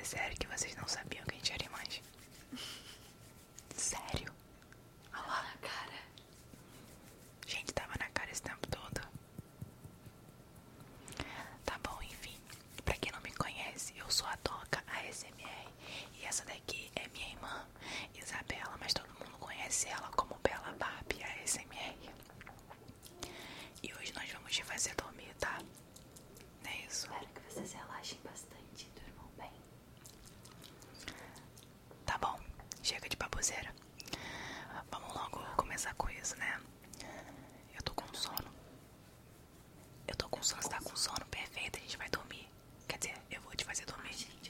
É sério que vocês não sabiam que a gente era irmãs? Sério? Olha lá. Na cara. Gente, tava na cara esse tempo todo. Tá bom, enfim. Pra quem não me conhece, eu sou a Toca ASMR. E essa daqui é minha irmã, Isabela, mas todo mundo conhece ela como Bela Barbie ASMR. E hoje nós vamos te fazer dormir, tá? Não é isso? Espero que vocês relaxem bastante e durmam bem. Tá bom, chega de baboseira. Vamos logo começar com isso, né? Eu tô com sono. Eu tô com sono, você tá com sono? Perfeito, a gente vai dormir. Quer dizer, eu vou te fazer dormir.